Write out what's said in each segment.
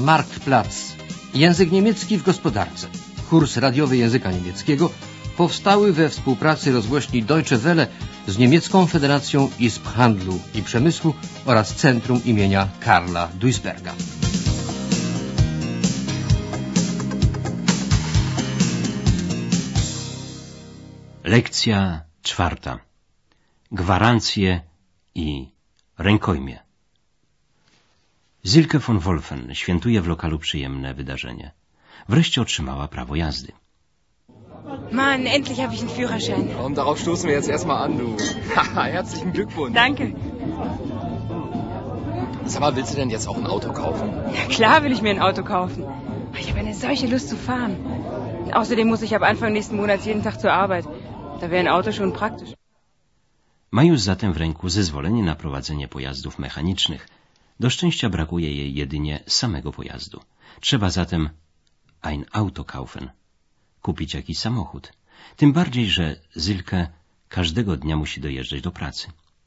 Marktplatz. Język niemiecki w gospodarce. Kurs radiowy języka niemieckiego powstały we współpracy rozgłośni Deutsche Welle z Niemiecką Federacją Izb Handlu i Przemysłu oraz Centrum imienia Karla Duisberga. Lekcja 4. Gwarancje i rękojmie. Silke von Wolfen świętuje w lokalu przyjemne wydarzenie. Wreszcie otrzymała prawo jazdy. Mann, endlich habe ich einen Führerschein. Und darauf stoßen wir jetzt erstmal an, du. Haha, herzlichen Glückwunsch. Danke. Sag mal, willst du denn jetzt auch ein Auto kaufen? Ja, klar will ich mir ein Auto kaufen. Ich habe eine solche Lust zu fahren. Außerdem muss ich ab Anfang nächsten Monats jeden Tag zur Arbeit. Da wäre ein Auto schon praktisch. Ma już zatem w ręku zezwolenie na prowadzenie pojazdów mechanicznych. Do szczęścia brakuje jej jedynie samego pojazdu. Trzeba zatem ein Auto kaufen. Kupić jakiś samochód. Tym bardziej, że Silke każdego dnia musi dojeżdżać do pracy.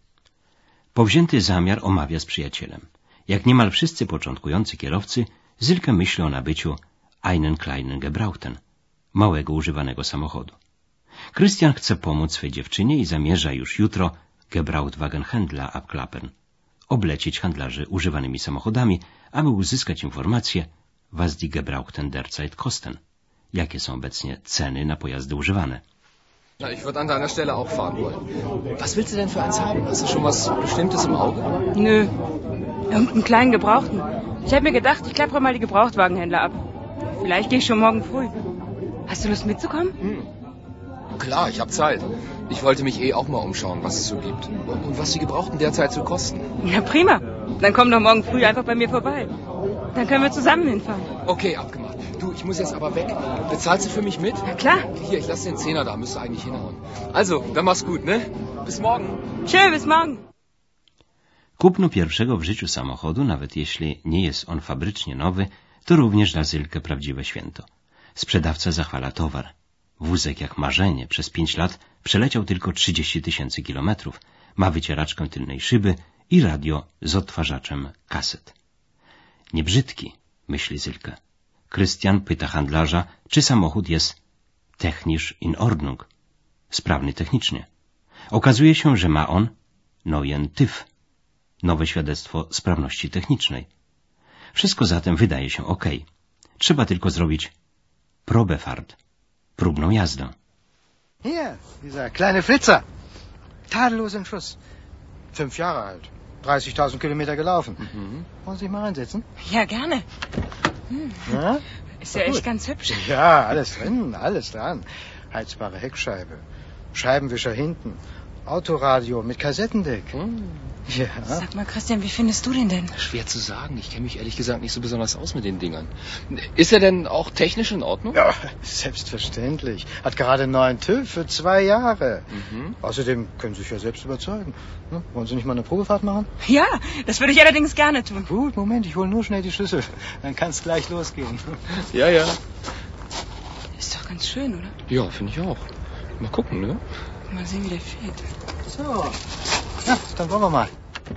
Powzięty zamiar omawia z przyjacielem. Jak niemal wszyscy początkujący kierowcy, Silke myśli o nabyciu einen kleinen Gebrauchten, małego używanego samochodu. Christian chce pomóc swej dziewczynie i zamierza już jutro Gebrauchtwagenhändler abklappern, oblecieć handlarzy używanymi samochodami, aby uzyskać informacje, was die Gebrauchten derzeit kosten, jakie są obecnie ceny na pojazdy używane. Na, ich würde an deiner Stelle auch fahren wollen. Was willst du denn für eins haben? Hast du schon was Bestimmtes im Auge? Nö, irgendeinen kleinen Gebrauchten. Ich habe mir gedacht, ich klappere mal die Gebrauchtwagenhändler ab. Vielleicht gehe ich schon morgen früh. Hast du Lust mitzukommen? Klar, ich habe Zeit. Ich wollte mich auch mal umschauen, was es so gibt. Und was die Gebrauchten derzeit so kosten. Ja, prima. Dann komm doch morgen früh einfach bei mir vorbei. Dann können wir zusammen hinfahren. Okay, abgemacht. Du, ich muss jetzt aber weg. Bezahlst du für mich mit? Na klar. Hier, ich lasse den Zehner da, müsste eigentlich hinhauen. Also, dann mach's gut, ne? Bis morgen. Tschö, bis morgen. Kupno pierwszego w życiu samochodu, nawet jeśli nie jest on fabrycznie nowy, to również dla Silke prawdziwe święto. Sprzedawca zachwala towar. Wózek jak marzenie przez 5 lat przeleciał tylko 30 000 kilometrów, ma wycieraczkę tylnej szyby i radio z odtwarzaczem kaset. Niebrzydki, myśli Silke. Christian pyta handlarza, czy samochód jest technisch in Ordnung, sprawny technicznie. Okazuje się, że ma on neuen TÜV, nowe świadectwo sprawności technicznej. Wszystko zatem wydaje się ok. Trzeba tylko zrobić Probefahrt, próbną jazdę. Hier, dieser kleine Flitzer. Tadellos im Schuss. 5 Jahre alt. 30.000 Kilometer gelaufen. Wollen Sie sich mal reinsetzen? Ja, gerne. Ja? Ist ja echt ganz hübsch. Ja, alles drin, alles dran. Heizbare Heckscheibe, Scheibenwischer hinten, Autoradio mit Kassettendeck. Ja. Sag mal, Christian, wie findest du den denn? Schwer zu sagen. Ich kenne mich ehrlich gesagt nicht so besonders aus mit den Dingern. Ist er denn auch technisch in Ordnung? Ja, selbstverständlich. Hat gerade einen neuen TÜV für 2 Jahre. Außerdem können Sie sich ja selbst überzeugen. Wollen Sie nicht mal eine Probefahrt machen? Ja, das würde ich allerdings gerne tun. Gut, Moment, ich hole nur schnell die Schlüssel. Dann kann es gleich losgehen. Ja, ja. Ist doch ganz schön, oder? Ja, finde ich auch. Mal gucken, ne? Mal sehen, wie der fährt. So, ja, dann wollen wir mal.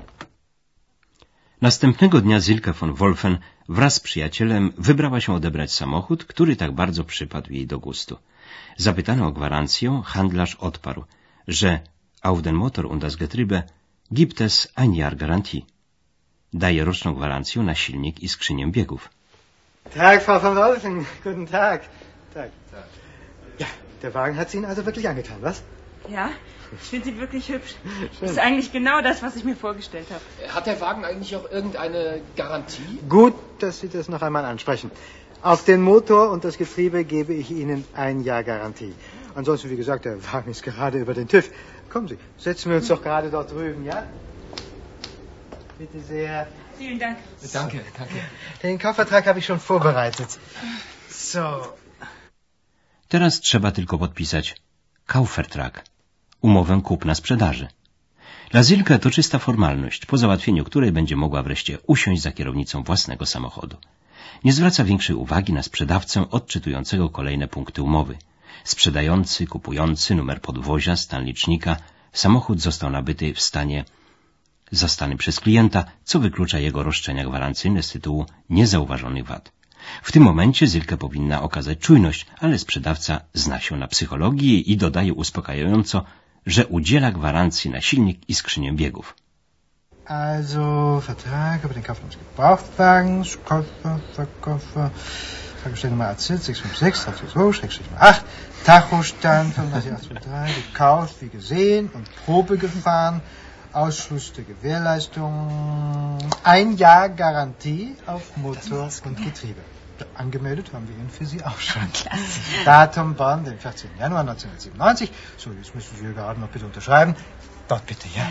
Następnego dnia Silke von Wolfen wraz z przyjacielem wybrała się odebrać samochód, który tak bardzo przypadł jej do gustu. Zapytany o gwarancję, handlarz odparł, że auf den Motor und das Getriebe gibt es ein Jahr Garantie. Daje roczną gwarancję na silnik i skrzynię biegów. Tag, Frau von Wolfen. Guten Tag. Tag. Ja, der Wagen hat Sie Ihnen also wirklich angetan, was? Ja, ich finde sie wirklich hübsch. Das ist eigentlich genau das, was ich mir vorgestellt habe. Hat der Wagen eigentlich auch irgendeine Garantie? Gut, dass Sie das noch einmal ansprechen. Auf den Motor und das Getriebe gebe ich Ihnen 1 Jahr Garantie. Ansonsten, wie gesagt, der Wagen ist gerade über den TÜV. Kommen Sie, setzen wir uns doch gerade dort drüben, ja? Bitte sehr. Vielen Dank. Danke, danke. Den Kaufvertrag habe ich schon vorbereitet. So. Teraz trzeba tylko podpisać Kaufvertrag, umowę kupna-sprzedaży. Dla Silke to czysta formalność, po załatwieniu której będzie mogła wreszcie usiąść za kierownicą własnego samochodu. Nie zwraca większej uwagi na sprzedawcę odczytującego kolejne punkty umowy. Sprzedający, kupujący, numer podwozia, stan licznika. Samochód został nabyty w stanie zastany przez klienta, co wyklucza jego roszczenia gwarancyjne z tytułu niezauważonych wad. W tym momencie Silke powinna okazać czujność, ale sprzedawca zna się na psychologii i dodaje uspokajająco, że udziela gwarancji na silnik i skrzynię biegów. Also, Vertrag über den Kauf eines Gebrauchtwagens, Verkäufer, Tankstellennummer AC656-8, Tachostand 35823, gekauft, wie gesehen und Probe gefahren, Ausschluss der Gewährleistung, 1 Jahr Garantie auf Motor und Getriebe. Angemeldet haben wir ihn für Sie auch schon. Klasse. Datum Bonn, den 14. Januar 1997. So, jetzt müssen Sie hier gerade noch bitte unterschreiben. Dort bitte, ja.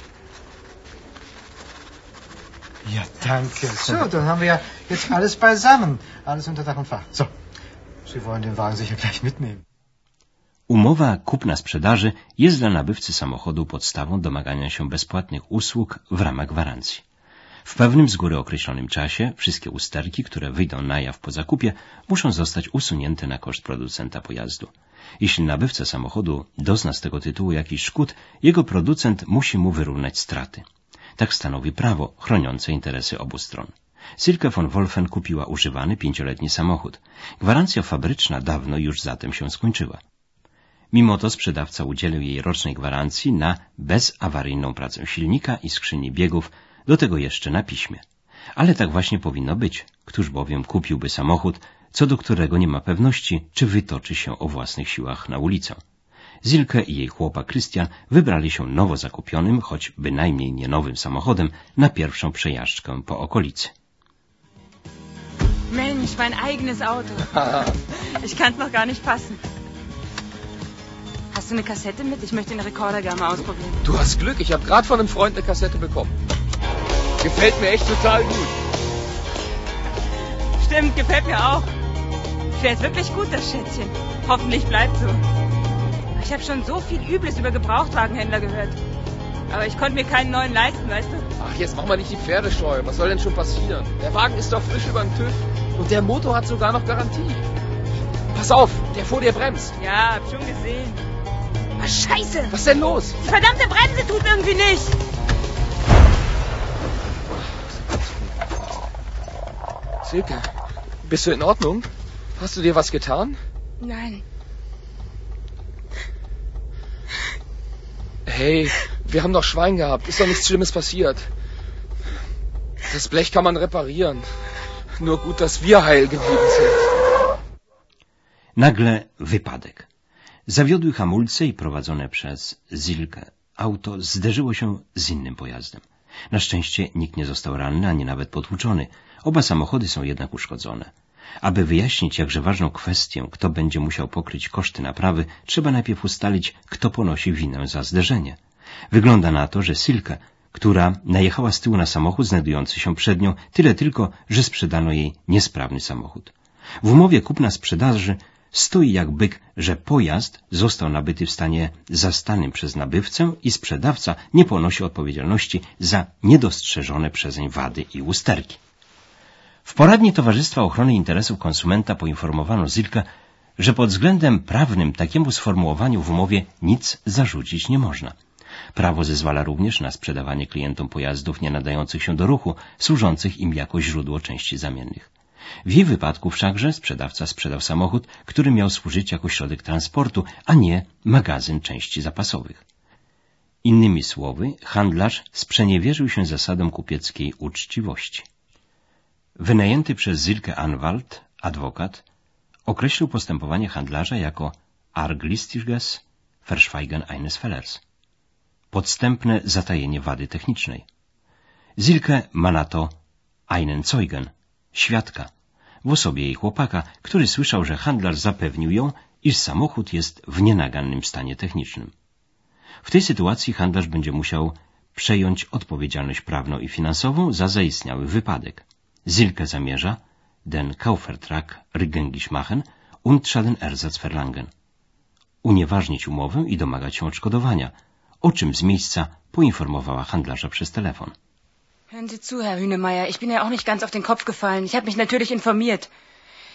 Ja, danke. So, dann haben wir ja jetzt alles beisammen. Alles unter Dach und Fach. So, Sie wollen den Wagen sicher gleich mitnehmen. Umowa kupna-sprzedaży jest dla nabywcy samochodu podstawą domagania się bezpłatnych usług w ramach gwarancji. W pewnym z góry określonym czasie wszystkie usterki, które wyjdą na jaw po zakupie, muszą zostać usunięte na koszt producenta pojazdu. Jeśli nabywca samochodu dozna z tego tytułu jakichś szkód, jego producent musi mu wyrównać straty. Tak stanowi prawo chroniące interesy obu stron. Silke von Wolfen kupiła używany 5-letni samochód. Gwarancja fabryczna dawno już zatem się skończyła. Mimo to sprzedawca udzielił jej rocznej gwarancji na bezawaryjną pracę silnika i skrzyni biegów, do tego jeszcze na piśmie. Ale tak właśnie powinno być. Któż bowiem kupiłby samochód, co do którego nie ma pewności, czy wytoczy się o własnych siłach na ulicę. Silke i jej chłopak Christian wybrali się nowo zakupionym, choć bynajmniej nie nowym samochodem, na pierwszą przejażdżkę po okolicy. Mensch, mein eigenes Auto. Ich kann's noch gar nicht fassen. Hast du eine Kassette mit? Ich möchte den Rekorder gerne mal ausprobieren. Du hast Glück, ich habe gerade von einem Freund eine Kassette bekommen. Gefällt mir echt total gut. Stimmt, gefällt mir auch. Fährt wirklich gut, das Schätzchen. Hoffentlich bleibt so. Ich habe schon so viel Übles über Gebrauchtwagenhändler gehört. Aber ich konnte mir keinen neuen leisten, weißt du? Ach, jetzt mach mal nicht die Pferde scheu. Was soll denn schon passieren? Der Wagen ist doch frisch über den TÜV. Und der Motor hat sogar noch Garantie. Pass auf, der vor dir bremst. Ja, hab schon gesehen. Ah, Scheiße! Was ist denn los? Die verdammte Bremse tut irgendwie nicht! Silke, bist du in Ordnung? Hast du dir was getan? Nein. Hey, wir haben doch Schwein gehabt. Ist doch nichts Schlimmes passiert. Das Blech kann man reparieren. Nur gut, dass wir heil geblieben sind. Nagle wypadek. Zawiodły hamulce i prowadzone przez Silke auto zderzyło się z innym pojazdem. Na szczęście nikt nie został ranny, ani nawet potłuczony. Oba samochody są jednak uszkodzone. Aby wyjaśnić jakże ważną kwestię, kto będzie musiał pokryć koszty naprawy, trzeba najpierw ustalić, kto ponosi winę za zderzenie. Wygląda na to, że Silke, która najechała z tyłu na samochód znajdujący się przed nią, tyle tylko, że sprzedano jej niesprawny samochód. W umowie kupna-sprzedaży stoi jak byk, że pojazd został nabyty w stanie zastanym przez nabywcę i sprzedawca nie ponosi odpowiedzialności za niedostrzeżone przezeń wady i usterki. W poradni Towarzystwa Ochrony Interesów Konsumenta poinformowano Silke, że pod względem prawnym takiemu sformułowaniu w umowie nic zarzucić nie można. Prawo zezwala również na sprzedawanie klientom pojazdów nie nadających się do ruchu, służących im jako źródło części zamiennych. W jej wypadku wszakże sprzedawca sprzedał samochód, który miał służyć jako środek transportu, a nie magazyn części zapasowych. Innymi słowy, handlarz sprzeniewierzył się zasadom kupieckiej uczciwości. Wynajęty przez Silke Anwalt, adwokat, określił postępowanie handlarza jako arglistiges Verschweigen eines Fehlers, podstępne zatajenie wady technicznej. Silke ma na to einen Zeugen, świadka, w osobie jej chłopaka, który słyszał, że handlarz zapewnił ją, iż samochód jest w nienagannym stanie technicznym. W tej sytuacji handlarz będzie musiał przejąć odpowiedzialność prawną i finansową za zaistniały wypadek. Silke zamierza den Kaufvertrag rückgängig machen und Schadenersatz verlangen. Unieważnić umowę i domagać się odszkodowania, o czym z miejsca poinformowała handlarza przez telefon. Hören Sie zu, Herr Hühnemeier, ich bin ja auch nicht ganz auf den Kopf gefallen. Ich habe mich natürlich informiert.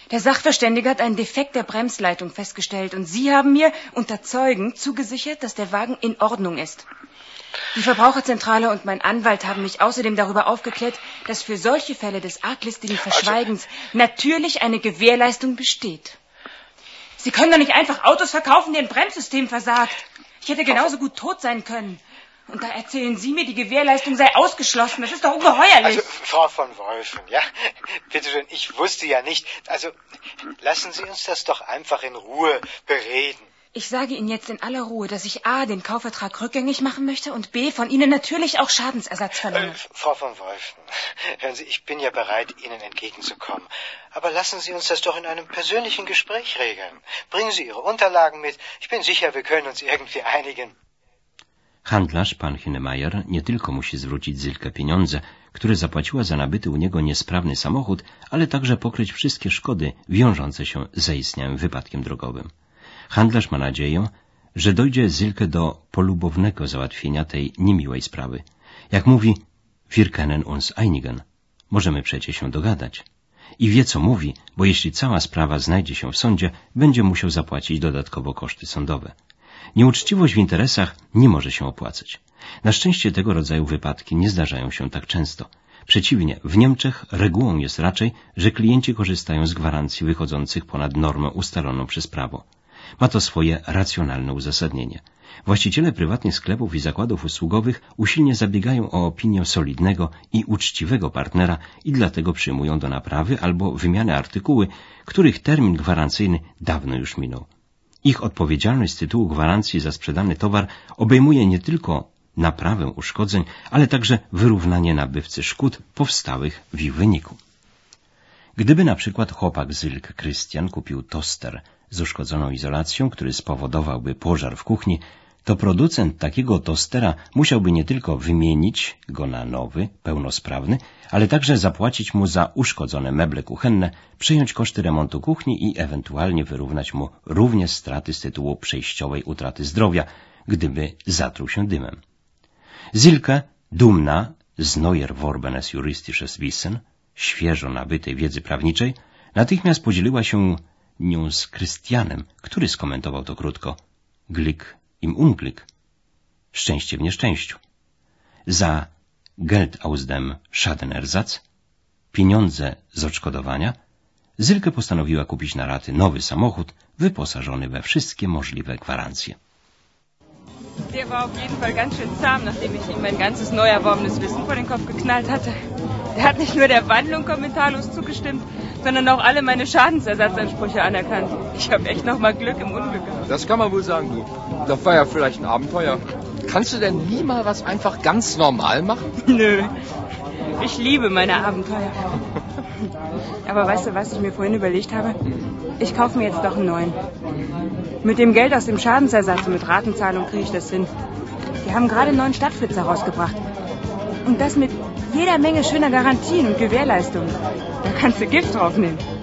Der Sachverständige hat einen Defekt der Bremsleitung festgestellt und Sie haben mir unter Zeugen zugesichert, dass der Wagen in Ordnung ist. Die Verbraucherzentrale und mein Anwalt haben mich außerdem darüber aufgeklärt, dass für solche Fälle des arglistigen Verschweigens natürlich eine Gewährleistung besteht. Sie können doch nicht einfach Autos verkaufen, deren Bremssystem versagt. Ich hätte genauso gut tot sein können. Und da erzählen Sie mir, die Gewährleistung sei ausgeschlossen. Das ist doch ungeheuerlich. Also, Frau von Wolfen, ja, bitte schön, ich wusste ja nicht. Also, lassen Sie uns das doch einfach in Ruhe bereden. Ich sage Ihnen jetzt in aller Ruhe, dass ich A, den Kaufvertrag rückgängig machen möchte und B, von Ihnen natürlich auch Schadensersatz verlange. Frau von Wolfen, hören Sie, ich bin ja bereit, Ihnen entgegenzukommen. Aber lassen Sie uns das doch in einem persönlichen Gespräch regeln. Bringen Sie Ihre Unterlagen mit. Ich bin sicher, wir können uns irgendwie einigen. Handlarz, pan Hinemeyer, nie tylko musi zwrócić Zylkę pieniądze, które zapłaciła za nabyty u niego niesprawny samochód, ale także pokryć wszystkie szkody wiążące się z zaistniałym wypadkiem drogowym. Handlarz ma nadzieję, że dojdzie Zylkę do polubownego załatwienia tej niemiłej sprawy. Jak mówi, wir können uns einigen. Możemy przecie się dogadać. I wie, co mówi, bo jeśli cała sprawa znajdzie się w sądzie, będzie musiał zapłacić dodatkowo koszty sądowe. Nieuczciwość w interesach nie może się opłacać. Na szczęście tego rodzaju wypadki nie zdarzają się tak często. Przeciwnie, w Niemczech regułą jest raczej, że klienci korzystają z gwarancji wychodzących ponad normę ustaloną przez prawo. Ma to swoje racjonalne uzasadnienie. Właściciele prywatnych sklepów i zakładów usługowych usilnie zabiegają o opinię solidnego i uczciwego partnera i dlatego przyjmują do naprawy albo wymiany artykuły, których termin gwarancyjny dawno już minął. Ich odpowiedzialność z tytułu gwarancji za sprzedany towar obejmuje nie tylko naprawę uszkodzeń, ale także wyrównanie nabywcy szkód powstałych w ich wyniku. Gdyby na przykład chłopak Zylk Krystian kupił toster z uszkodzoną izolacją, który spowodowałby pożar w kuchni, to producent takiego tostera musiałby nie tylko wymienić go na nowy, pełnosprawny, ale także zapłacić mu za uszkodzone meble kuchenne, przejąć koszty remontu kuchni i ewentualnie wyrównać mu również straty z tytułu przejściowej utraty zdrowia, gdyby zatruł się dymem. Zylke, dumna z neuer worbenes juristisches Wissen, świeżo nabytej wiedzy prawniczej, natychmiast podzieliła się nią z Krystianem, który skomentował to krótko. Glück im Unglück. Szczęście w nieszczęściu. Za Geld aus dem Schadenersatz, pieniądze z odszkodowania, Zylke postanowiła kupić na raty nowy samochód, wyposażony we wszystkie możliwe gwarancje. Der war auf jeden Fall ganz schön zahm, nachdem ich ihm mein ganzes neu erworbenes Wissen vor den Kopf geknallt hatte. Er hat nicht nur der Wandlung kommentarlos zugestimmt, sondern auch alle meine Schadensersatzansprüche anerkannt. Ich habe echt noch mal Glück im Unglück gehabt. Das kann man wohl sagen, du. Das war ja vielleicht ein Abenteuer. Kannst du denn nie mal was einfach ganz normal machen? Nö, ich liebe meine Abenteuer. Aber weißt du, was ich mir vorhin überlegt habe? Ich kaufe mir jetzt doch einen neuen. Mit dem Geld aus dem Schadensersatz und mit Ratenzahlung kriege ich das hin. Die haben gerade einen neuen Stadtflitzer rausgebracht. Und das mit jeder Menge schöner Garantien und Gewährleistungen. Da kannst du Gift drauf nehmen.